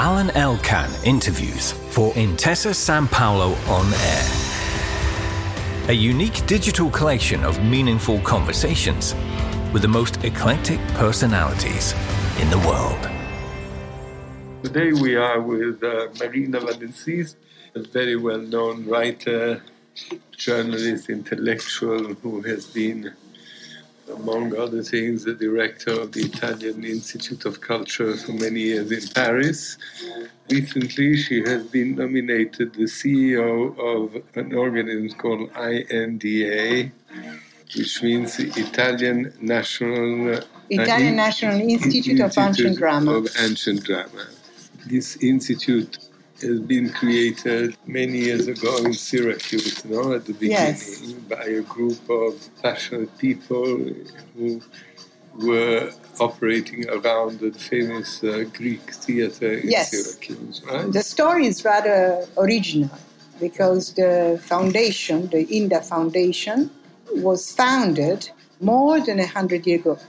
Alan Elkan interviews for Intesa Sanpaolo On Air. A unique digital collection of meaningful conversations with the most eclectic personalities in the world. Today we are with Marina Valensis, a very well-known writer, journalist, intellectual who has been, among other things, the director of the Italian Institute of Culture for many years in Paris. Recently, she has been nominated the CEO of an organism called INDA, which means the Italian National Institute of Ancient Drama. This institute has been created many years ago in Syracuse, at the beginning, by a group of passionate people who were operating around the famous Greek theater in Syracuse, right? The story is rather original because the foundation, the INDA Foundation, was founded more than 100 years ago,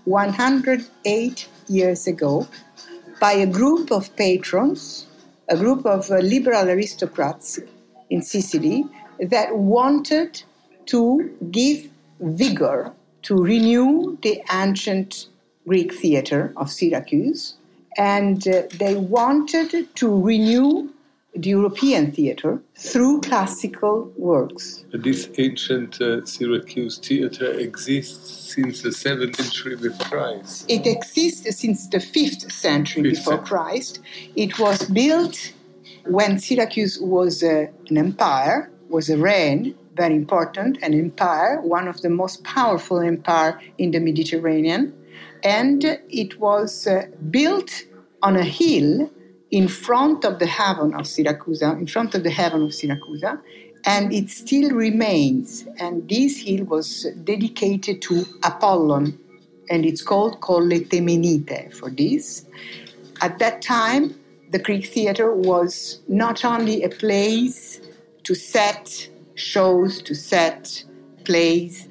108 years ago, by a group of patrons, a group of liberal aristocrats in Sicily that wanted to give vigor, to renew the ancient Greek theater of Syracuse, and they wanted to renew the European theater through classical works. This ancient Syracuse theater exists since the 7th century before Christ. It exists since the 5th century before Christ. It was built when Syracuse was an empire, was a reign, very important, an empire, one of the most powerful empires in the Mediterranean. And it was built on a hill in front of the haven of Syracuse, and it still remains. And this hill was dedicated to Apollon, and it's called Colle Temenite for this. At that time, the Greek theater was not only a place to set shows, to set plays,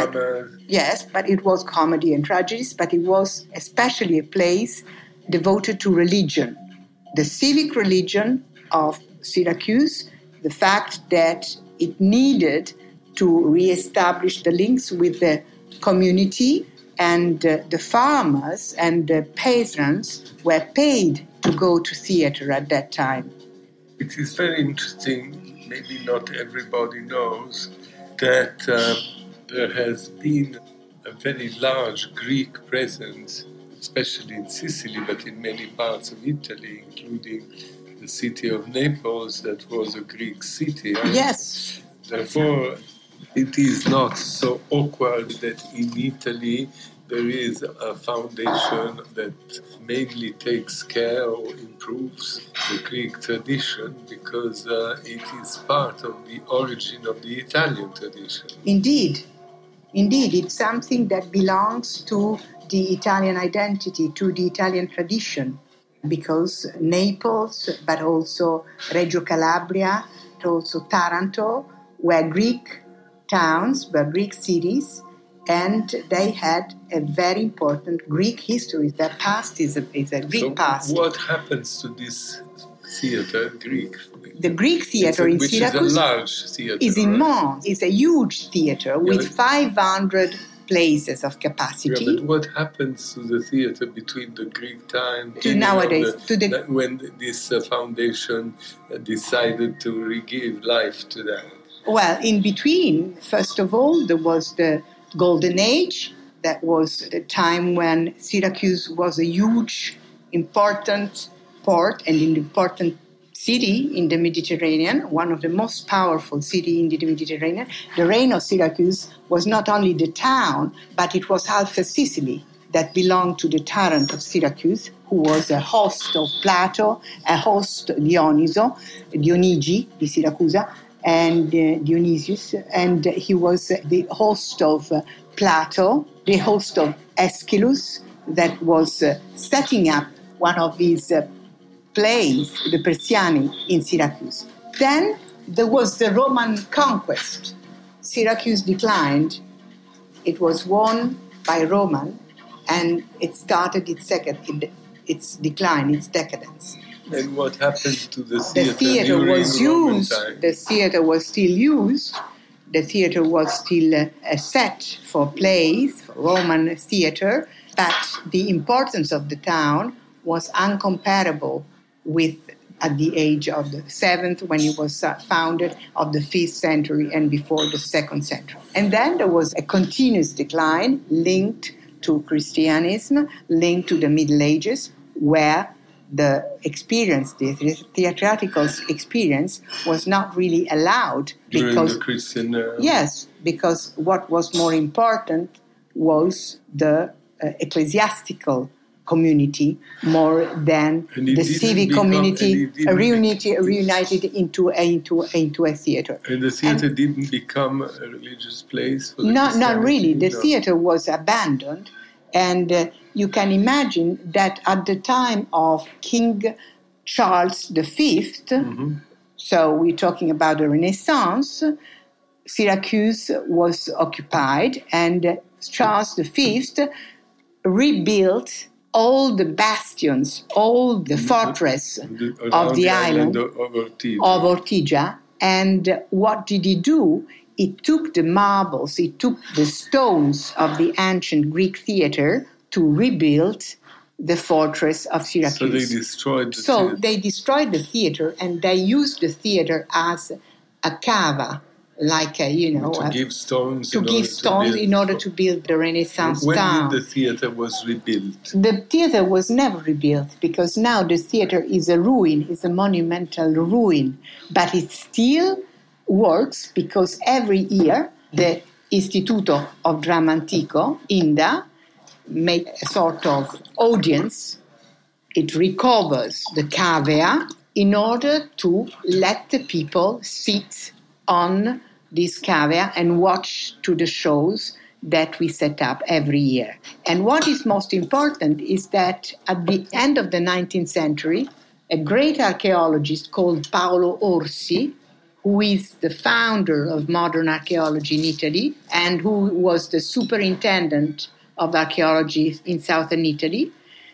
but it was comedy and tragedies, but it was especially a place devoted to religion. The civic religion of Syracuse, the fact that it needed to reestablish the links with the community, and the farmers and the peasants were paid to go to theater at that time. It is very interesting, maybe not everybody knows, that there has been a very large Greek presence, especially in Sicily, but in many parts of Italy, including the city of Naples, that was a Greek city. Yes. Therefore, it is not so awkward that in Italy there is a foundation that mainly takes care or improves the Greek tradition, because it is part of the origin of the Italian tradition. Indeed, it's something that belongs to the Italian identity, to the Italian tradition, because Naples, but also Reggio Calabria, but also Taranto, were Greek towns, were Greek cities, and they had a very important Greek history. Their past is a Greek past. So what happens to this theater, Greek? The Greek theater in Syracuse, which is a large theater, is immense. It's a huge theater with 500 places of capacity. Yeah, but what happens to the theater between the Greek time to nowadays, when this foundation decided to give life to that? Well, in between, first of all, there was the Golden Age. That was the time when Syracuse was a huge, important port and an important city in the Mediterranean, one of the most powerful cities in the Mediterranean. The reign of Syracuse was not only the town, but it was half of Sicily that belonged to the tyrant of Syracuse, who was a host of Plato, a host of Dionigi di Siracusa, and Dionysius, and he was the host of Plato, the host of Aeschylus, that was setting up one of his plays, the Persiani, in Syracuse. Then there was the Roman conquest. Syracuse declined. It was won by Roman, and it started its decadence. And what happened to the The theater theater during was Roman used. time? The theater was still used. The theater was still a set for plays, for Roman theater, but the importance of the town was incomparable with at the age of the 7th, when it was founded, of the 5th century and before the 2nd century. And then there was a continuous decline linked to Christianism, linked to the Middle Ages, where the experience, the theatrical experience, was not really allowed. During the Christian... Yes, because what was more important was the ecclesiastical community more than the civic community reunited into a theater. And the theater didn't become a religious place for the Not really. The no. theater was abandoned, and you can imagine that at the time of King Charles V, so we're talking about the Renaissance, Syracuse was occupied, and Charles V rebuilt all the bastions, all the fortress of the island of Ortigia. And what did he do? He took the marbles, he took the stones of the ancient Greek theater to rebuild the fortress of Syracuse. So they destroyed the theater. They destroyed the theater, and they used the theater as a cava, like to give stones in order to build the Renaissance town. When did the theater was rebuilt? The theater was never rebuilt, because now the theater is a ruin, it's a monumental ruin, but it still works because every year the Istituto of Dramma Antico, INDA, make a sort of audience. It recovers the cavea in order to let the people sit on this cavea and watch to the shows that we set up every year. And what is most important is that at the end of the 19th century, a great archaeologist called Paolo Orsi, who is the founder of modern archaeology in Italy and who was the superintendent of archaeology in southern Italy,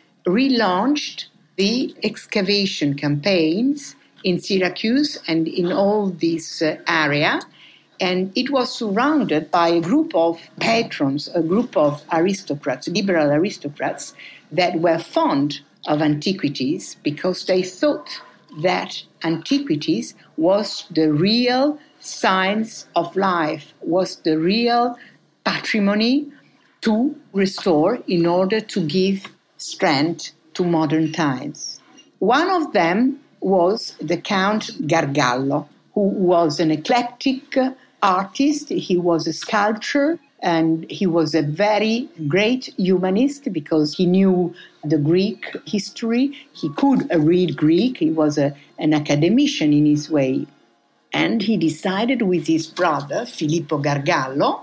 relaunched the excavation campaigns in Syracuse and in all this area. And it was surrounded by a group of patrons, a group of aristocrats, liberal aristocrats, that were fond of antiquities because they thought that antiquities was the real science of life, was the real patrimony to restore in order to give strength to modern times. One of them was the Count Gargallo, who was an eclectic artist. He was a sculptor, and he was a very great humanist because he knew the Greek history. He could read Greek. He was an academician in his way. And he decided with his brother, Filippo Gargallo,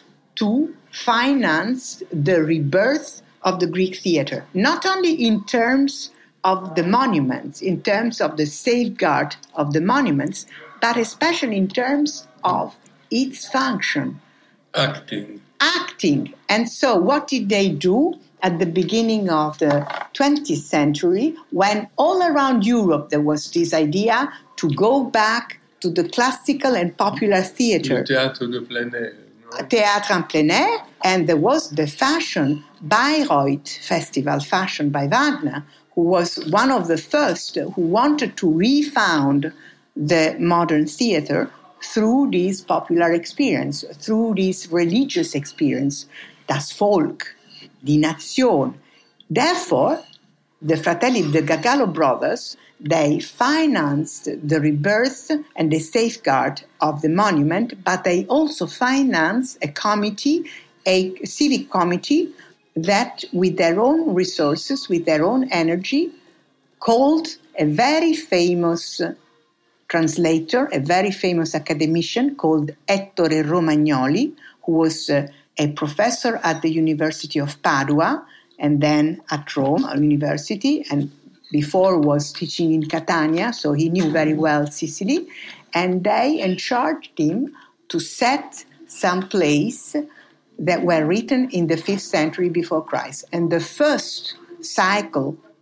to finance the rebirth of the Greek theater, not only in terms of the monuments, in terms of the safeguard of the monuments, but especially in terms of its function. Acting. And so what did they do at the beginning of the 20th century, when all around Europe there was this idea to go back to the classical and popular theater. The Théâtre de plein air. Théâtre en plein air, and there was the fashion, Bayreuth Festival, fashion by Wagner, who was one of the first who wanted to refound the modern theater through this popular experience, through this religious experience, das Volk, die Nation. Therefore, the Fratelli, the Gargallo brothers, they financed the rebirth and the safeguard of the monument, but they also financed a committee, a civic committee, that with their own resources, with their own energy, called a very famous translator, a very famous academician called Ettore Romagnoli, who was a professor at the University of Padua and then at Rome University, and before was teaching in Catania, so he knew very well Sicily. And they charged him to set some plays that were written in the 5th century before Christ. And the first cycle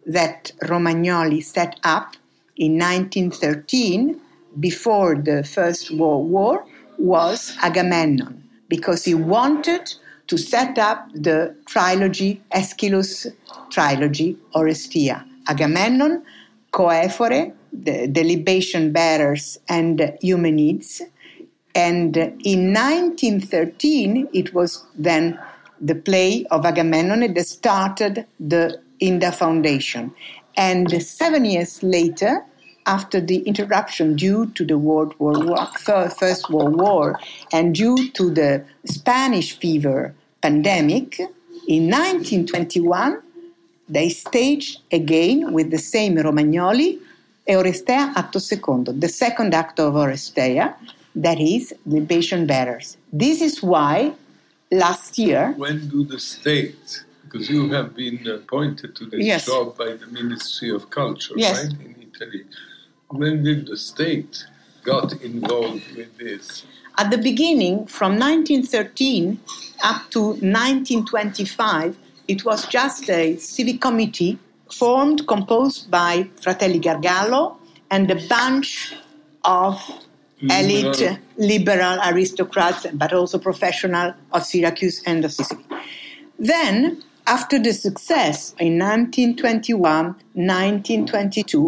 that Romagnoli set up in 1913, before the First World War, was Agamemnon, because he wanted to set up the trilogy, Aeschylus trilogy, Oresteia. Agamemnon, Coephore, the libation bearers, and Eumenides. And in 1913, it was then the play of Agamemnon that started the INDA Foundation. And 7 years later, after the interruption due to the First World War and due to the Spanish fever pandemic, in 1921, they staged again with the same Romagnoli, Oresteia Atto Secondo, the second act of Oresteia, that is, Libation Bearers. This is why last year... When do the state, because you have been appointed to this job by the Ministry of Culture, right, in Italy. When did the state got involved with this? At the beginning, from 1913 up to 1925, it was just a civic committee composed by Fratelli Gargallo and a bunch of elite liberal aristocrats, but also professional of Syracuse and of Sicily. Then, after the success in 1921, 1922,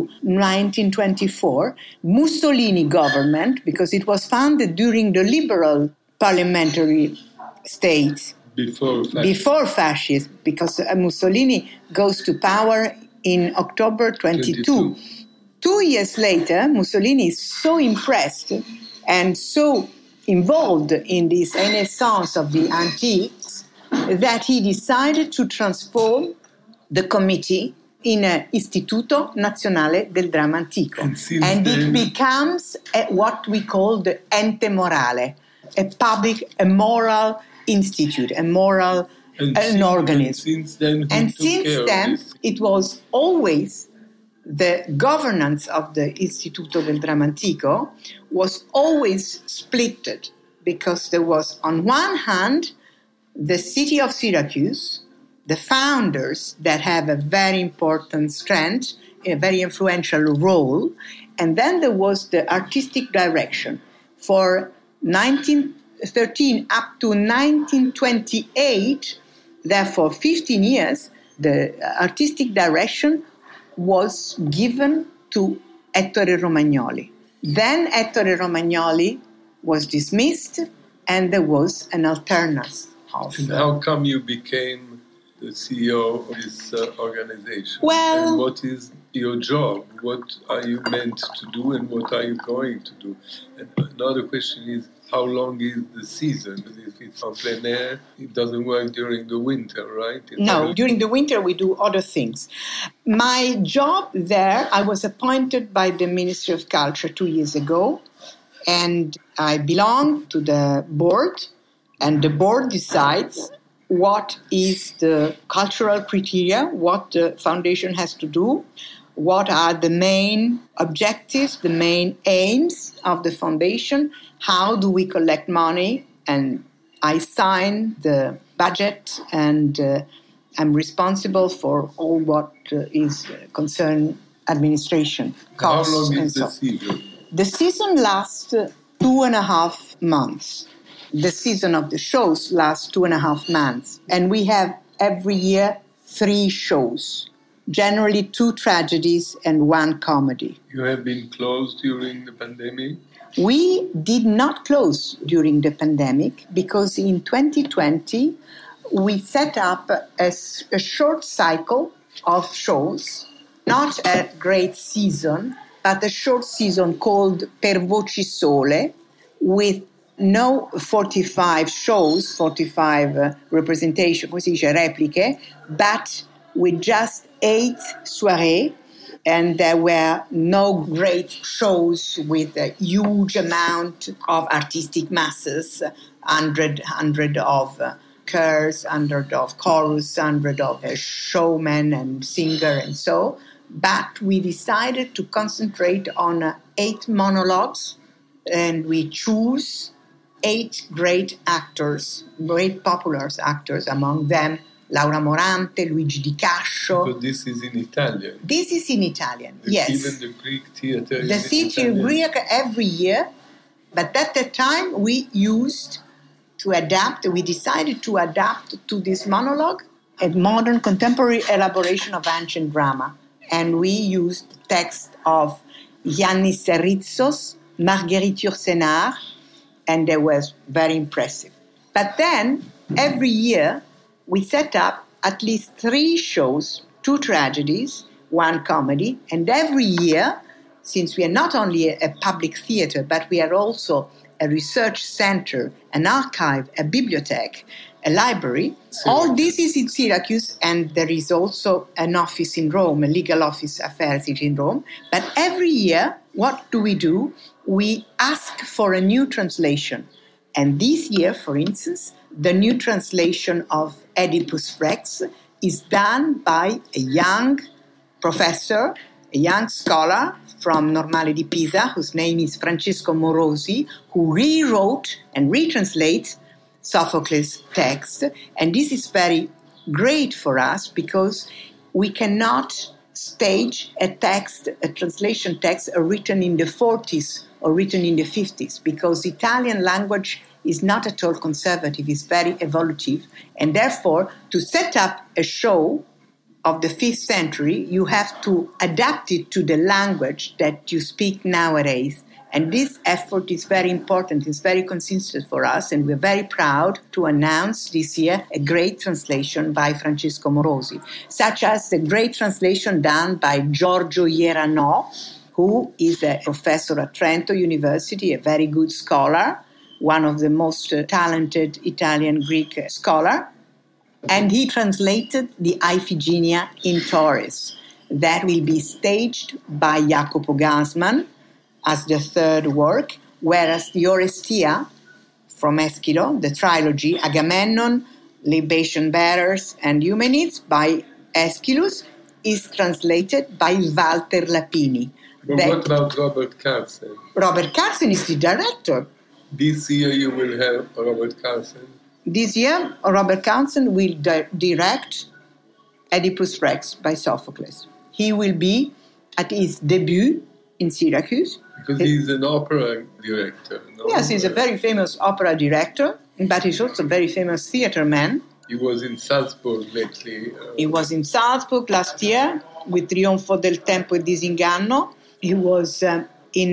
1924, Mussolini government, because it was founded during the liberal parliamentary states, before fascism, because Mussolini goes to power in October 22. 2 years later, Mussolini is so impressed and so involved in this renaissance of the antiques that he decided to transform the committee in an Istituto Nazionale del Dramma Antico. And it becomes what we call the ente morale, a moral institute, an organism. And since then, it was always the governance of the Istituto del Dramma Antico was always splitted, because there was, on one hand, the city of Syracuse, the founders that have a very important strength, a very influential role, and then there was the artistic direction. For 1913 up to 1928, therefore 15 years, the artistic direction was given to Ettore Romagnoli. Then Ettore Romagnoli was dismissed, and there was an alternance. And how come you became the CEO of this organization? Well, and what is your job? What are you meant to do, and what are you going to do? And another question is, how long is the season? If it's en plein air, it doesn't work during the winter, right? No, during the winter we do other things. My job there, I was appointed by the Ministry of Culture 2 years ago, and I belong to the board, and the board decides what is the cultural criteria, what the foundation has to do, what are the main objectives, the main aims of the foundation, how do we collect money, and I sign the budget, and I'm responsible for all what is concerned administration, costs. How long is the season? The season lasts 2.5 months. The season of the shows lasts 2.5 months. And we have every year 3 shows, generally 2 tragedies and 1 comedy. You have been closed during the pandemic? We did not close during the pandemic because in 2020 we set up a short cycle of shows, not a great season, but a short season called Per Voci Sole, with no 45 shows, 45 representation, come si dice, repliche, but with just 8 soirées, and there were no great shows with a huge amount of artistic masses, 100 of chorus, 100 of chorus, 100 of showmen and singer and so. But we decided to concentrate on 8 monologues, and we choose 8 great actors, great popular actors, among them Laura Morante, Luigi Di Cascio. But this is in Italian. This is in Italian, yes. Even the Greek theater The is theater in Italian. Greek every year, but at that time we decided to adapt to this monologue a modern contemporary elaboration of ancient drama. And we used text of Yannis Serritsos, Marguerite Yourcenar, and they were very impressive. But then, every year, we set up at least 3 shows, 2 tragedies, 1 comedy, and every year, since we are not only a public theater, but we are also a research center, an archive, a bibliothèque, a library. All this is in Syracuse, and there is also an office in Rome, a legal office affairs in Rome. But every year, what do? We ask for a new translation. And this year, for instance, the new translation of Oedipus Rex is done by a young professor, a young scholar from Normale di Pisa, whose name is Francesco Morosi, who rewrote and retranslates Sophocles' text. And this is very great for us because we cannot stage a translation text written in the 40s or written in the 50s, because the Italian language is not at all conservative, it's very evolutive. And therefore, to set up a show of the 5th century, you have to adapt it to the language that you speak nowadays. And this effort is very important, it's very consistent for us, and we're very proud to announce this year a great translation by Francesco Morosi, such as the great translation done by Giorgio Ierano, who is a professor at Trento University, a very good scholar, one of the most talented Italian Greek scholar. And he translated the Iphigenia in Tauris. That will be staged by Jacopo Gassman as the 3rd work, whereas the Orestia from Eschilo, the trilogy, Agamemnon, Libation Bearers, and Eumenides by Aeschylus, is translated by Walter Lapini. But what about Robert Carson? Robert Carson is the director. This year you will have Robert Carson. This year, Robert Carson will direct Oedipus Rex by Sophocles. He will be at his debut in Syracuse. Because he's an opera director. No? Yes, he's a very famous opera director, but he's also a very famous theater man. He was in Salzburg lately. He was in Salzburg last year with Trionfo del Tempo e Disinganno. He was at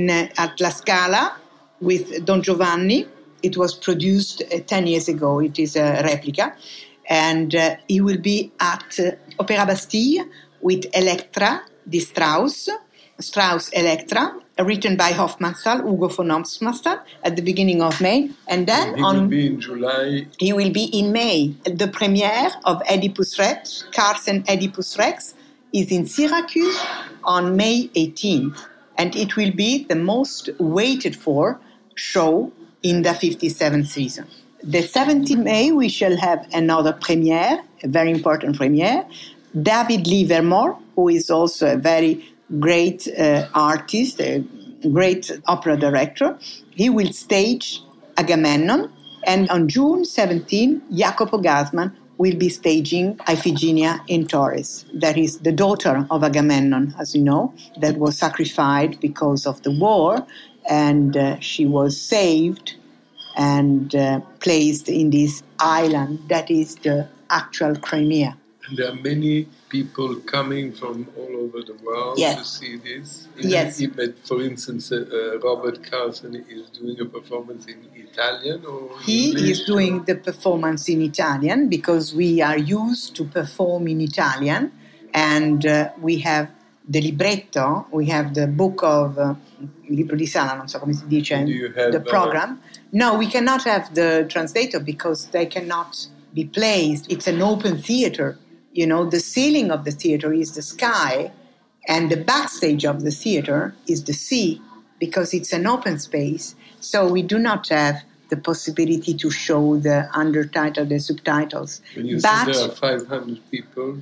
La Scala with Don Giovanni. It was produced 10 years ago. It is a replica. And he will be at Opéra Bastille with Elektra di Strauss Elektra, written by Hofmannsthal, Ugo von Hofmannsthal, at the beginning of May. And then he will be in July. He will be in May. The premiere of Oedipus Rex, Carson Oedipus Rex, is in Syracuse on May 18th. And it will be the most waited for show in the 57th season. The 17th May, we shall have another premiere, a very important premiere. David Livermore, who is also a very great artist, a great opera director, he will stage Agamemnon. And on June 17, Jacopo Gassman will be staging Iphigenia in Tauris. That is the daughter of Agamemnon, as you know, that was sacrificed because of the war, and she was saved and placed in this island that is the actual Crimea. And there are many people coming from all over the world to see this. Yes. For instance, Robert Carson is doing a performance in Italian or He English? is doing the performance in Italian because we are used to perform in Italian, and we have the libretto, we have the book of libro di sala, non so come si dice, the program. No, we cannot have the translator because they cannot be placed. It's an open theater. You know, the ceiling of the theater is the sky, and the backstage of the theater is the sea, because it's an open space. So we do not have the possibility to show the undertitle, the subtitles. When you say there are 500 people,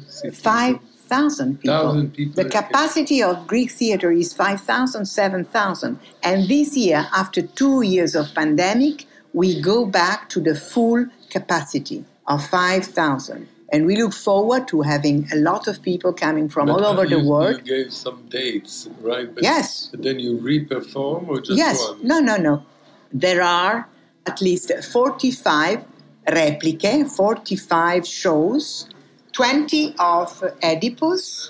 5,000 people. 1,000 people. The capacity of Greek theater is 5,000, 7,000. And this year, after 2 years of pandemic, we go back to the full capacity of 5,000. And we look forward to having a lot of people coming from all over the world. You gave some dates, right? Yes. But then you re-perform or just one? No. There are at least 45 repliche, 45 shows, 20 of Oedipus,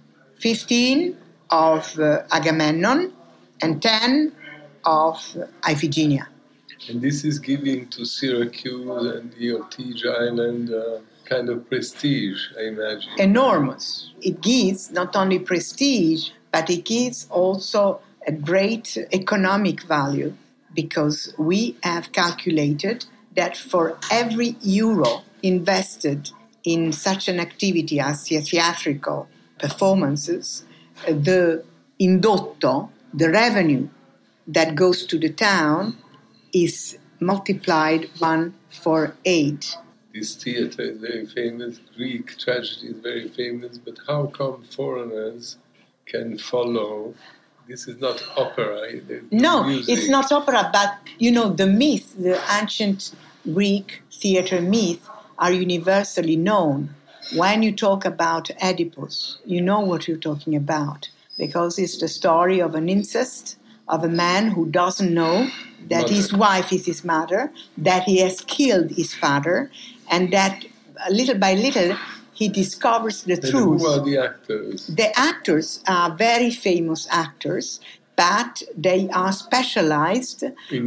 15 of Agamemnon, and 10 of Iphigenia. And this is giving to Syracuse and the Ortigia Island kind of prestige, I imagine. Enormous. It gives not only prestige, but it gives also a great economic value, because we have calculated that for every euro invested in such an activity as theatrical performances, the indotto, the revenue that goes to the town, is multiplied 1 for 8. This theatre is very famous, Greek tragedy is very famous, but how come foreigners can follow? This is not opera. No, music. It's not opera, but, the myth, the ancient Greek theatre myth are universally known. When you talk about Oedipus, you know what you're talking about, because it's the story of an incest, of a man who doesn't know that his wife is his mother, that he has killed his father, and that little by little he discovers the truth. Who are the actors? The actors are very famous actors, but they are specialized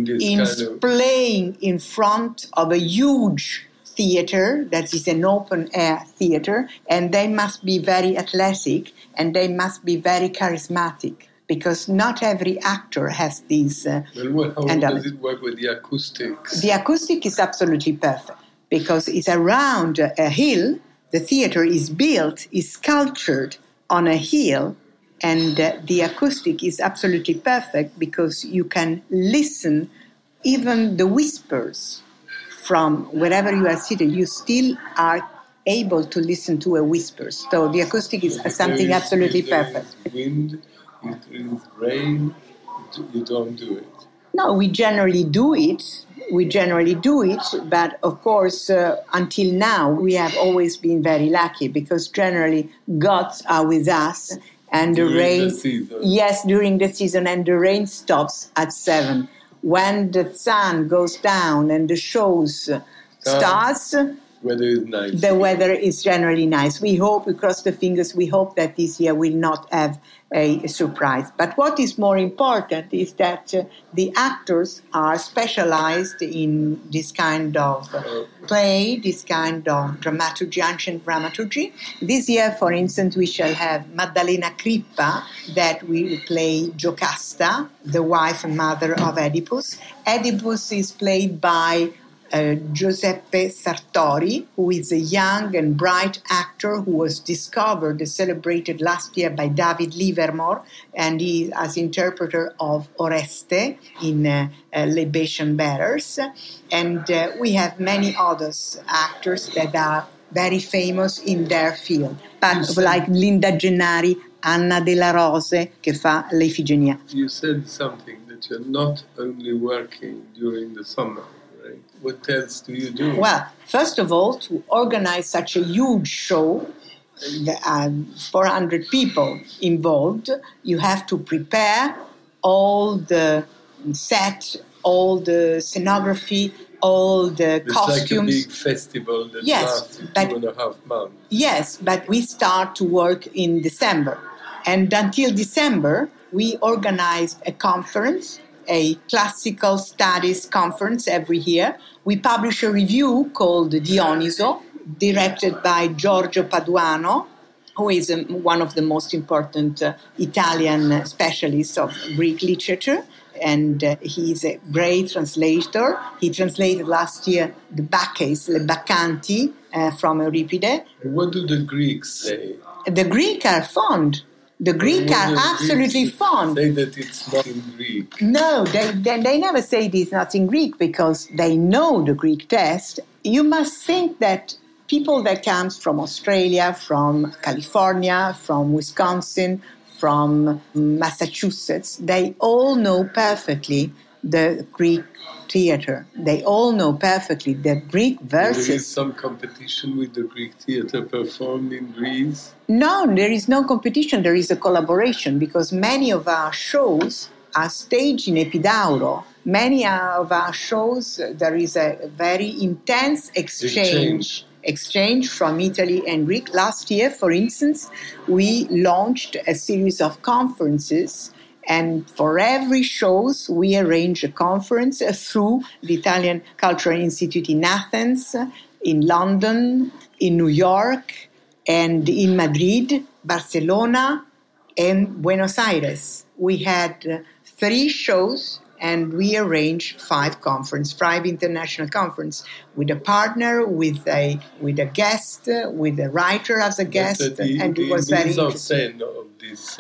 in playing in front of a huge theater that is an open-air theater, and they must be very athletic and they must be very charismatic, because not every actor has these. How does it work with the acoustics? The acoustic is absolutely perfect, because it's around a hill. The theater is built, is sculptured on a hill, and the acoustic is absolutely perfect, because you can listen, even the whispers from wherever you are seated, you still are able to listen to a whisper. So the acoustic is something absolutely perfect. Wind, if there is rain, you don't do it. No, we generally do it, but of course, until now, we have always been very lucky, because generally gods are with us, and during the rain. The season. Yes, during the season, and the rain stops at 7. When the sun goes down and the shows starts, weather is nice. The weather is generally nice. We cross the fingers, we hope that this year will not have a surprise. But what is more important is that the actors are specialized in this kind of play, this kind of dramaturgy, ancient dramaturgy. This year, for instance, we shall have Maddalena Crippa, that will play Giocasta, the wife and mother of Oedipus. Oedipus is played by Giuseppe Sartori, who is a young and bright actor who was discovered and celebrated last year by David Livermore, and he as interpreter of Oreste in Libation Bearers. And we have many other actors that are very famous in their field, but like Linda Gennari, Anna della Rose, che fa l'Ifigenia. You said something that you're not only working during the summer. What else do you do? Well, first of all, to organize such a huge show, 400 people involved, you have to prepare all the set, all the scenography, all the costumes. It's like a big festival that lasts 2.5 months. Yes, but we start to work in December. And until December, we organized a conference, a classical studies conference every year. We publish a review called Dioniso, directed by Giorgio Paduano, who is one of the most important Italian specialists of Greek literature. And he's a great translator. He translated last year the Bacchae, Le Baccanti, from Euripide. What do the Greeks say? The Greeks are fond. The Greeks are absolutely fond. Say that it's not in Greek. No, they never say it is not in Greek, because they know the Greek text. You must think that people that comes from Australia, from California, from Wisconsin, from Massachusetts, they all know perfectly the Greek theater. They all know perfectly that Greek verses... There is some competition with the Greek theater performed in Greece? No, there is no competition. There is a collaboration because many of our shows are staged in Epidauro. Many of our shows, there is a very intense exchange from Italy and Greek. Last year, for instance, we launched a series of conferences, and for every shows we arrange a conference through the Italian Cultural Institute in Athens, in London, in New York, and in Madrid, Barcelona, and Buenos Aires. We had 3 shows, and we arranged 5 international conferences, with a partner, with a guest, with a writer as a guest, and it was very interesting. Of this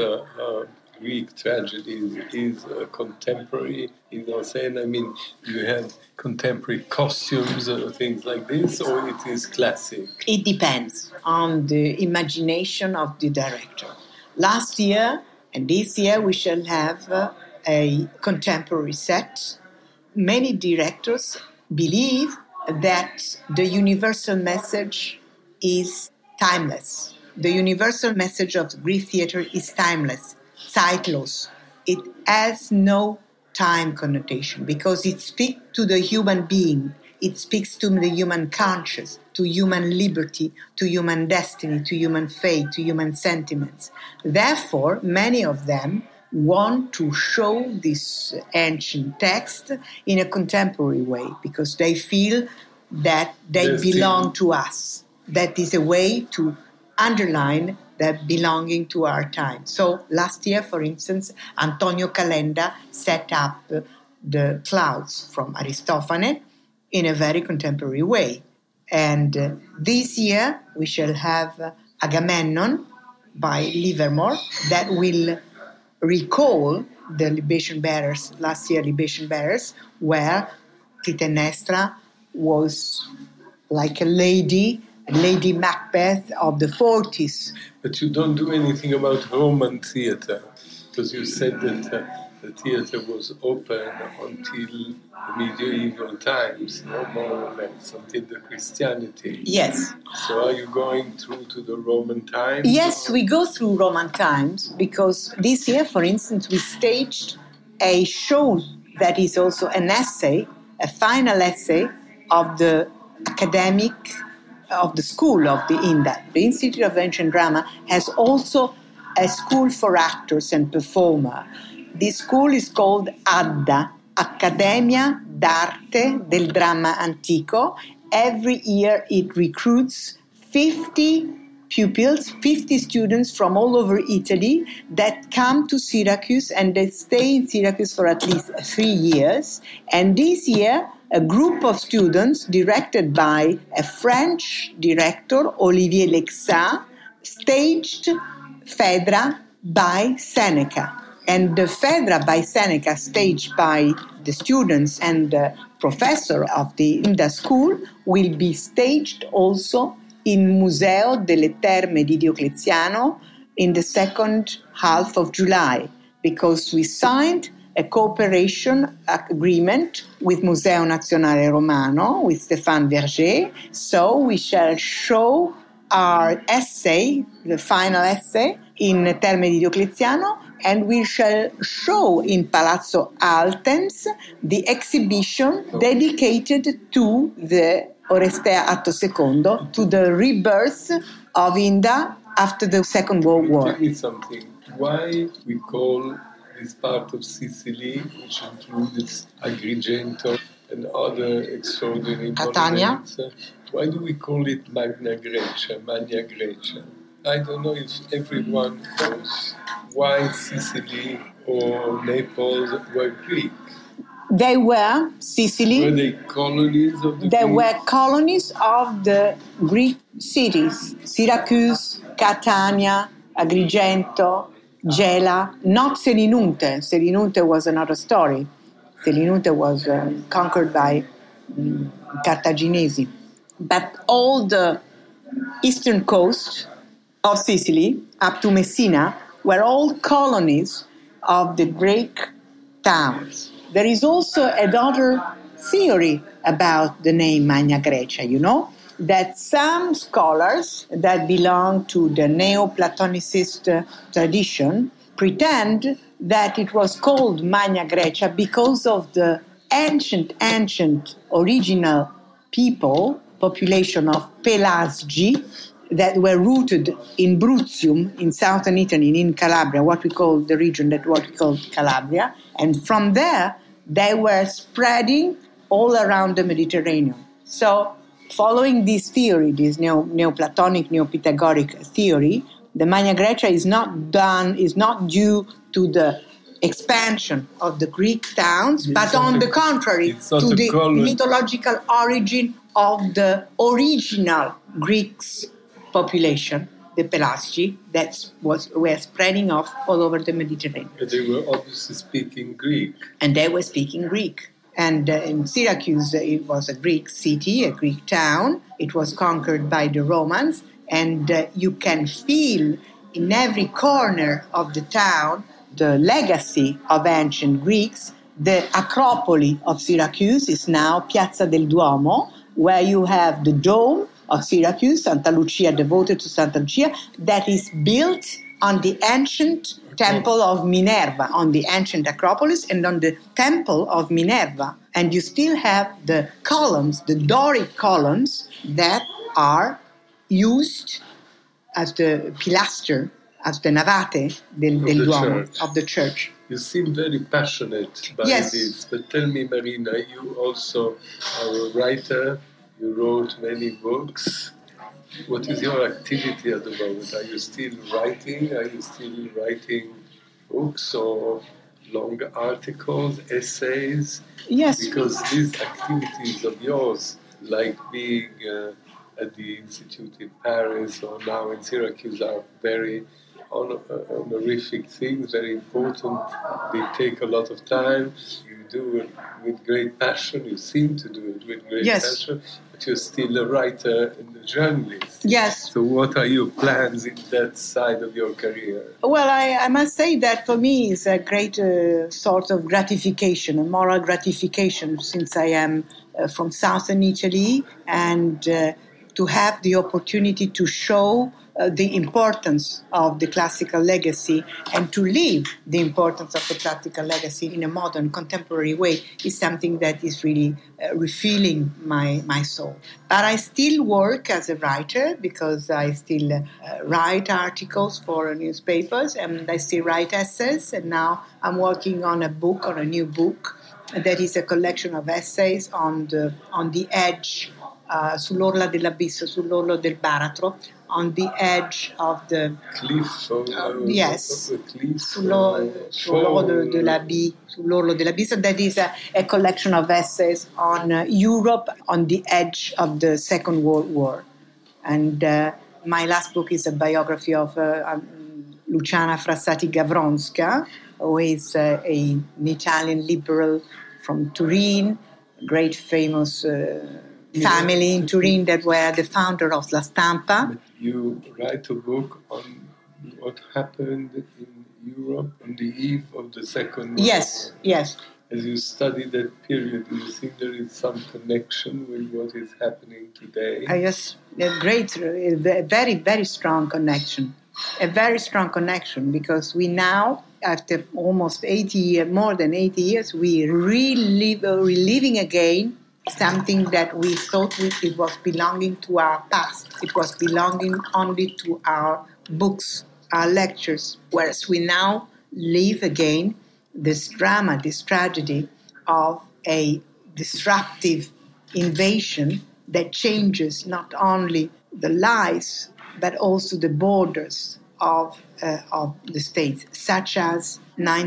Greek tragedy is contemporary in Mise-en-Scène. I mean, you have contemporary costumes or things like this, or it is classic? It depends on the imagination of the director. Last year and this year we shall have a contemporary set. Many directors believe that the universal message is timeless. The universal message of Greek theater is timeless, zeitlos. It has no time connotation because it speaks to the human being. It speaks to the human conscience, to human liberty, to human destiny, to human fate, to human sentiments. Therefore, many of them want to show this ancient text in a contemporary way because they feel that they belong to us. That is a way to underline that belonging to our time. So last year, for instance, Antonio Calenda set up the Clouds from Aristophanes in a very contemporary way. And this year we shall have Agamemnon by Livermore that will recall the libation bearers, last year libation bearers, where Clytemnestra was like a Lady Macbeth of the 40s. But you don't do anything about Roman theatre, because you said that the theatre was open until the medieval times, no more or less, until the Christianity. Yes. So are you going through to the Roman times? Yes, we go through Roman times because this year, for instance, we staged a show that is also an essay, a final essay of the academic of the school of the INDA. The Institute of Ancient Drama has also a school for actors and performers. This school is called ADDA, Accademia d'Arte del Dramma Antico. Every year it recruits 50 pupils, 50 students from all over Italy that come to Syracuse and they stay in Syracuse for at least 3 years. And this year, a group of students directed by a French director, Olivier Lexat, staged Phaedra by Seneca. And the Phaedra by Seneca, staged by the students and the professor of the INDA school, will be staged also in Museo delle Terme di Diocleziano in the second half of July, because we signed a cooperation agreement with Museo Nazionale Romano, with Stéphane Verger. So we shall show our essay, the final essay, in Terme di Diocleziano, and we shall show in Palazzo Altenz the exhibition dedicated to the Orestea Atto Secondo, to the rebirth of INDA after the Second World War. Tell me something. Why we call this part of Sicily, which includes Agrigento and other extraordinary monuments, why do we call it Magna Grecia? I don't know if everyone knows why Sicily or Naples were Greek. They were Sicily. Were they colonies of the They Greeks? were colonies of the Greek cities. Syracuse, Catania, Agrigento, Gela, not Selinunte. Selinunte was another story. Selinunte was conquered by Cartaginesi. But all the eastern coast of Sicily, up to Messina, were all colonies of the Greek towns. there is also another theory about the name Magna Graecia, that some scholars that belong to the Neoplatonicist tradition pretend that it was called Magna Graecia because of the ancient original population of Pelasgi that were rooted in Bruttium, in southern Italy, in Calabria, what we call Calabria. And from there, they were spreading all around the Mediterranean. So, following this theory, this Neoplatonic, Neopythagorean theory, the Magna Graecia is not due to the expansion of the Greek towns, but on the contrary, to the mythological origin of the original Greeks population, the Pelasgi, that were spreading off all over the Mediterranean. And they were obviously speaking Greek. And they were speaking Greek. And in Syracuse, it was a Greek city, a Greek town. It was conquered by the Romans. And you can feel in every corner of the town the legacy of ancient Greeks. The Acropoli of Syracuse is now Piazza del Duomo, where you have the dome of Syracuse, Santa Lucia, devoted to Santa Lucia, that is built on the ancient temple of Minerva, on the ancient Acropolis, and on the temple of Minerva. And you still have the columns, the Doric columns, that are used as the pilaster, as the navate del Duomo, of the church. You seem very passionate by this, but tell me, Marina, you also are a writer, you wrote many books. What is your activity at the moment? Are you still writing? Are you still writing books or long articles, essays? Yes. Because these activities of yours, like being at the Institute in Paris or now in Syracuse, are very honorific things, very important. They take a lot of time. You do it with great passion. You seem to do it with great passion. But you're still a writer and a journalist. Yes. So what are your plans in that side of your career? Well, I must say that for me it's a great sort of gratification, a moral gratification, since I am from southern Italy, and to have the opportunity to show the importance of the classical legacy and to live the importance of the classical legacy in a modern, contemporary way is something that is really refilling my soul. But I still work as a writer because I still write articles for newspapers and I still write essays. And now I'm working on a new book that is a collection of essays on the edge, sull'orla dell'abisso, sull'orlo del baratro, on the edge of the cliff. Yes, cliff, sull'orlo dell'abisso. That is a collection of essays on Europe on the edge of the Second World War. And my last book is a biography of Luciana Frassati Gavronska, who is an Italian liberal from Turin, great famous family in Turin that were the founder of La Stampa. But you write a book on what happened in Europe on the eve of the Second World War. Yes. As you study that period, do you think there is some connection with what is happening today? Yes, a very, very strong connection. A very strong connection, because we now, after almost 80 years, more than 80 years, we reliving again something that we thought it was belonging to our past. It was belonging only to our books, our lectures, whereas we now live again this drama, this tragedy of a disruptive invasion that changes not only the lives but also the borders of the states, such as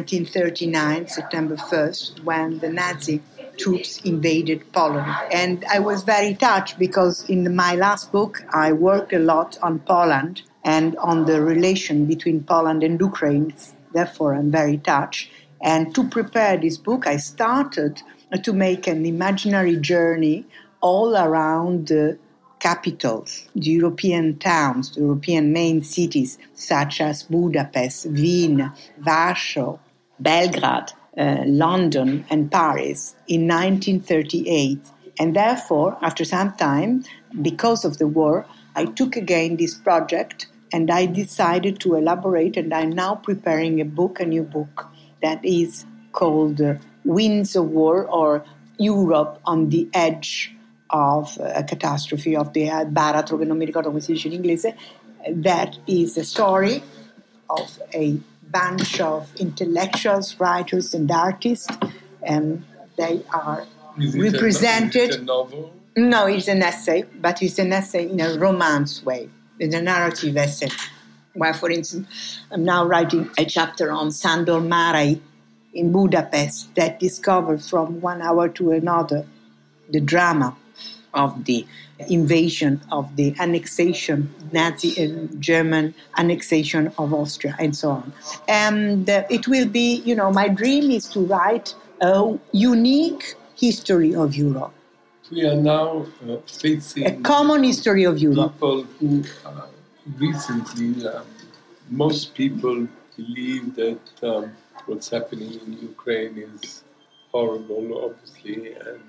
1939, September 1st, when the Nazi troops invaded Poland. And I was very touched because in my last book I worked a lot on Poland and on the relation between Poland and Ukraine. Therefore, I'm very touched. And to prepare this book, I started to make an imaginary journey all around the capitals, the European towns, the European main cities, such as Budapest, Wien, Warsaw, Belgrade, London and Paris in 1938. And therefore, after some time, because of the war, I took again this project and I decided to elaborate, and I'm now preparing a new book, that is called Winds of War, or Europe on the Edge of a Catastrophe, of the baratro, che non mi ricordo come si dice in inglese. That is a story of a bunch of intellectuals, writers and artists, and they are represented. Is it a novel? No, it's an essay, but it's an essay in a romance way. It's a narrative essay. Where, for instance, I'm now writing a chapter on Sándor Márai in Budapest that discovered from one hour to another the drama of the invasion, of the annexation, Nazi and German annexation of Austria, and so on. And it will be, my dream is to write a unique history of Europe. We are now facing a common history of Europe. People who recently, most people believe that what's happening in Ukraine is horrible, obviously, and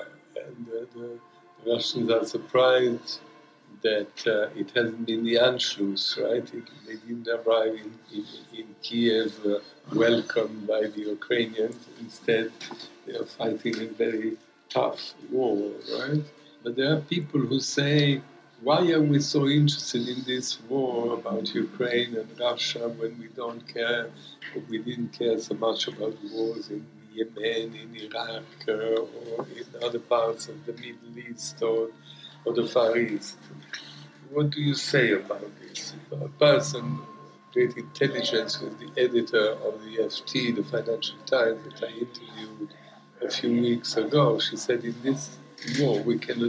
the Russians are surprised that it hasn't been the Anschluss, right? They didn't arrive in Kiev welcomed by the Ukrainians. Instead, they are fighting a very tough war, right? But there are people who say, why are we so interested in this war about Ukraine and Russia when we don't care, or we didn't care so much about wars in Yemen, in Iraq, or in other parts of the Middle East or the Far East? What do you say about this? A person, great intelligence, who is the editor of the FT, the Financial Times, that I interviewed a few weeks ago, she said, in this war we cannot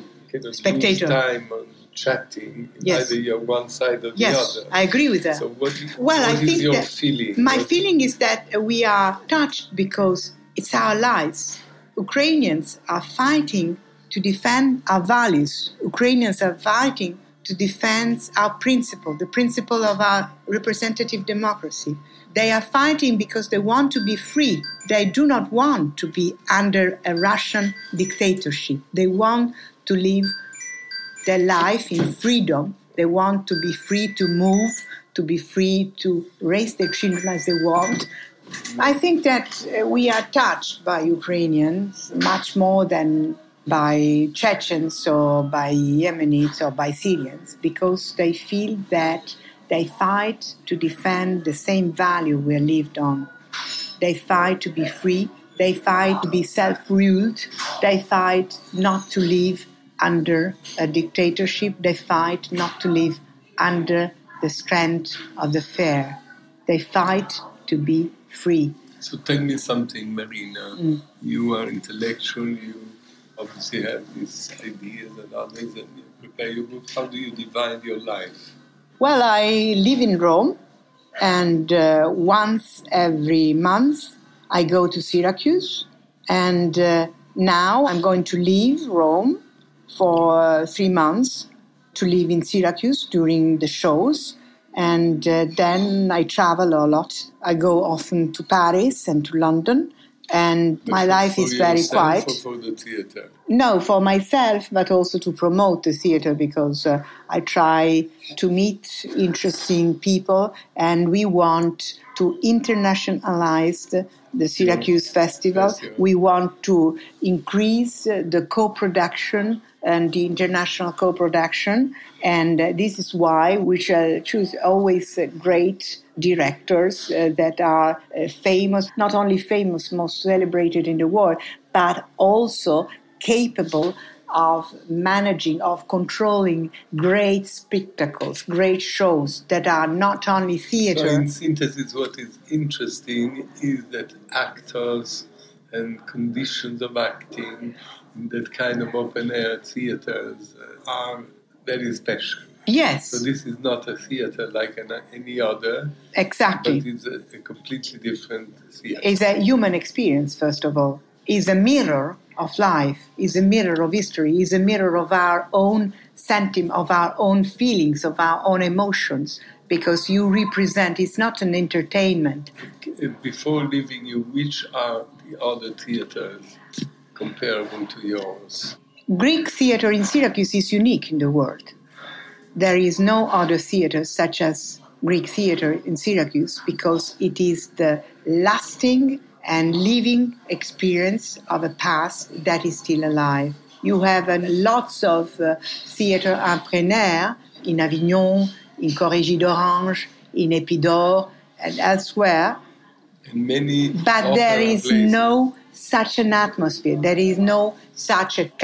use time on chatting. Yes. Either you're one side or the yes, other. I agree with that. So what I think is your that feeling? My feeling is that we are touched because it's our lives. Ukrainians are fighting to defend our values. Ukrainians are fighting to defend our principle, the principle of our representative democracy. They are fighting because they want to be free. They do not want to be under a Russian dictatorship. They want to live their life in freedom. They want to be free to move, to be free to raise their children as they want. I think that we are touched by Ukrainians much more than by Chechens or by Yemenites or by Syrians, because they feel that they fight to defend the same value we lived on. They fight to be free. They fight to be self-ruled. They fight not to live under a dictatorship. They fight not to live under the strength of the fear. They fight to be free. So tell me something, Marina. You are intellectual. You obviously have these ideas and others, and you prepare your book. How do you divide your life? Well, I live in Rome, and once every month I go to Syracuse, and now I'm going to leave Rome for 3 months to live in Syracuse during the shows, and then I travel a lot. I go often to Paris and to London, and my life is very quiet. For the theatre? No, for myself, but also to promote the theatre, because I try to meet interesting people, and we want to internationalize the Syracuse Festival. Yes. We want to increase the co-production and the international co-production, and this is why we shall choose always great directors that are famous, not only famous, most celebrated in the world, but also capable of managing, of controlling great spectacles, great shows that are not only theatre. So in synthesis, what is interesting is that actors and conditions of acting in that kind of open-air theatres are very special. Yes. So this is not a theatre like any other. Exactly. But it's a completely different theatre. It's a human experience, first of all. It's a mirror of life, is a mirror of history, is a mirror of our own sentiment, of our own feelings, of our own emotions, because you represent, it's not an entertainment. Before leaving you, which are the other theaters comparable to yours? Greek theater in Syracuse is unique in the world. There is no other theater such as Greek theater in Syracuse because it is the lasting and living experience of a past that is still alive. You have lots of theater en plein air in Avignon, in Corrégie d'Orange, in Épidore, and elsewhere. And many but there is places. No such an atmosphere. There is no such a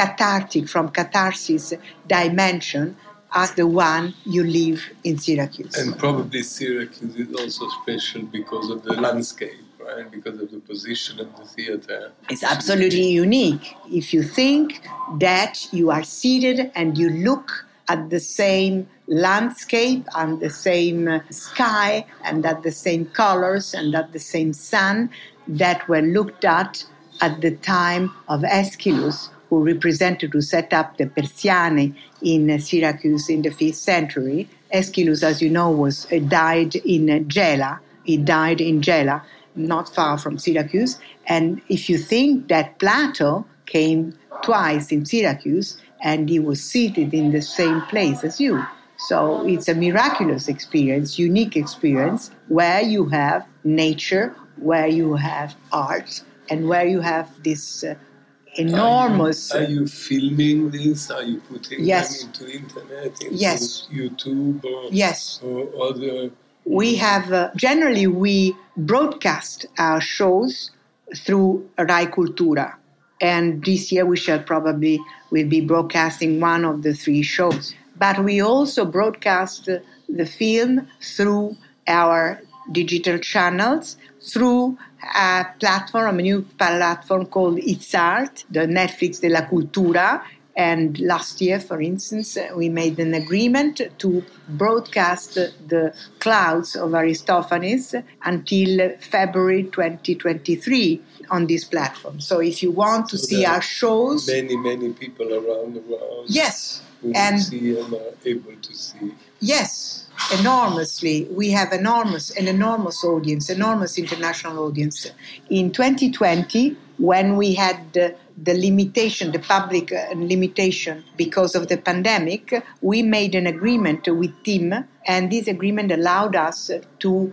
catharsis dimension as the one you live in Syracuse. And probably Syracuse is also special because of the landscape, right? Because of the position of the theater. It's absolutely unique. If you think that you are seated and you look at the same landscape and the same sky and at the same colors and at the same sun that were looked at the time of Aeschylus, who set up the Persiane in Syracuse in the 5th century. Aeschylus, as you know, died in Gela. He died in Gela, not far from Syracuse. And if you think that Plato came twice in Syracuse and he was seated in the same place as you. So it's a miraculous experience, unique experience, where you have nature, where you have art, and where you have this enormous... Are you filming this? Are you putting yes. them into internet, into yes. YouTube or, yes. or other... We have, generally we broadcast our shows through Rai Cultura. And this year we'll be broadcasting one of the 3 shows. But we also broadcast the film through our digital channels, through a new platform called It's Art, the Netflix de la Cultura. And last year, for instance, we made an agreement to broadcast the Clouds of Aristophanes until February 2023 on this platform. So if you want to see our shows... Many people around the world. Yes. Who see and are able to see. Yes, enormously. We have an enormous audience, enormous international audience. In 2020, when we had the limitation, the public limitation because of the pandemic, we made an agreement with TIM, and this agreement allowed us to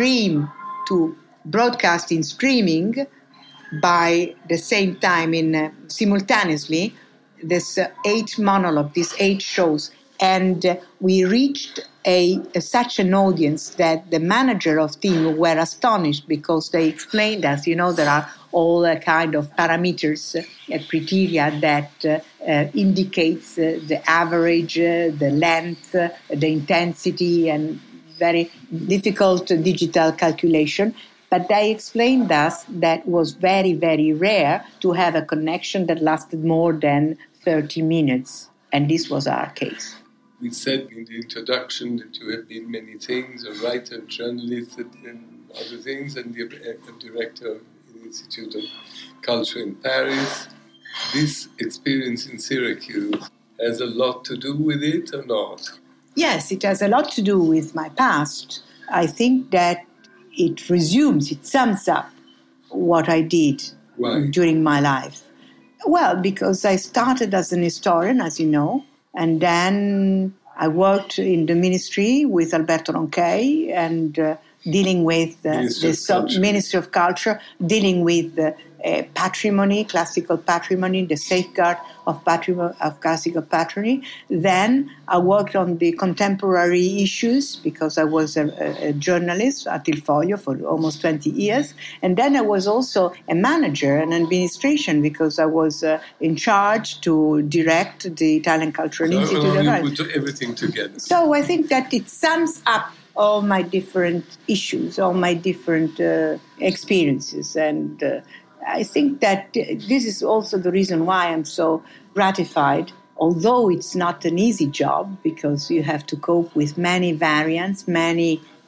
broadcast in streaming by the same time simultaneously this 8 monologue, these 8 shows. And we reached such an audience that the manager of TIM were astonished because they explained us, there are all kind of parameters, criteria that indicates the average, the length, the intensity, and very difficult digital calculation. But they explained us that it was very, very rare to have a connection that lasted more than 30 minutes. And this was our case. We said in the introduction that you have been many things, a writer, journalist, and other things, and the director of the Institute of Culture in Paris. This experience in Syracuse has a lot to do with it or not? Yes, it has a lot to do with my past. I think that it sums up what I did during my life. Well, because I started as an historian, as you know, and then I worked in the ministry with Alberto Ronchey and dealing with the Ministry of Culture, dealing with patrimony, classical patrimony, the safeguard of classical patrimony. Then I worked on the contemporary issues because I was a journalist at Il Foglio for almost 20 years. And then I was also a manager and administration because I was in charge to direct the Italian Cultural Institute. You put everything together. So I think that it sums up all my different issues, all my different experiences. And I think that this is also the reason why I'm so gratified, although it's not an easy job because you have to cope with many variants, many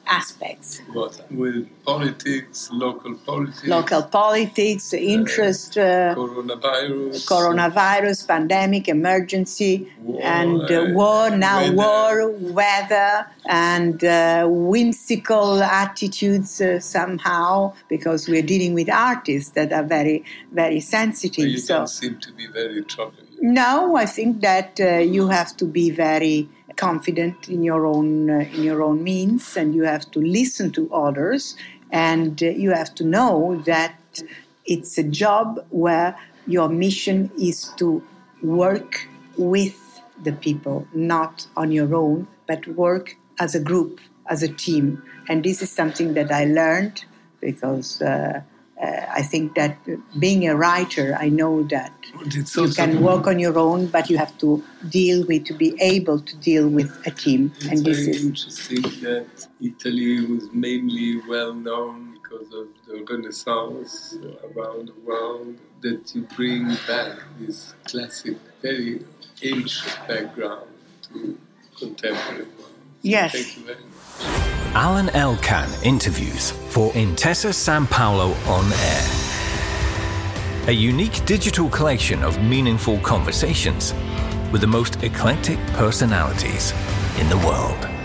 aspects. What? With politics, local politics, Interest, coronavirus, pandemic, emergency, war, weather, and whimsical attitudes somehow, because we're dealing with artists that are very, very sensitive. But you don't seem to be very troubled. No, I think that you have to be very confident in your own means, and you have to listen to others, and you have to know that it's a job where your mission is to work with the people, not on your own, but work as a group, as a team. And this is something that I learned because I think that being a writer, I know that you can work on your own, but you have to be able to deal with a team. It's and this very is interesting that Italy was mainly well known because of the Renaissance around the world, that you bring back this classic, very ancient background to contemporary world. So Yes. Thank you very much. Alan Elkan interviews for Intesa Sanpaolo On Air. A unique digital collection of meaningful conversations with the most eclectic personalities in the world.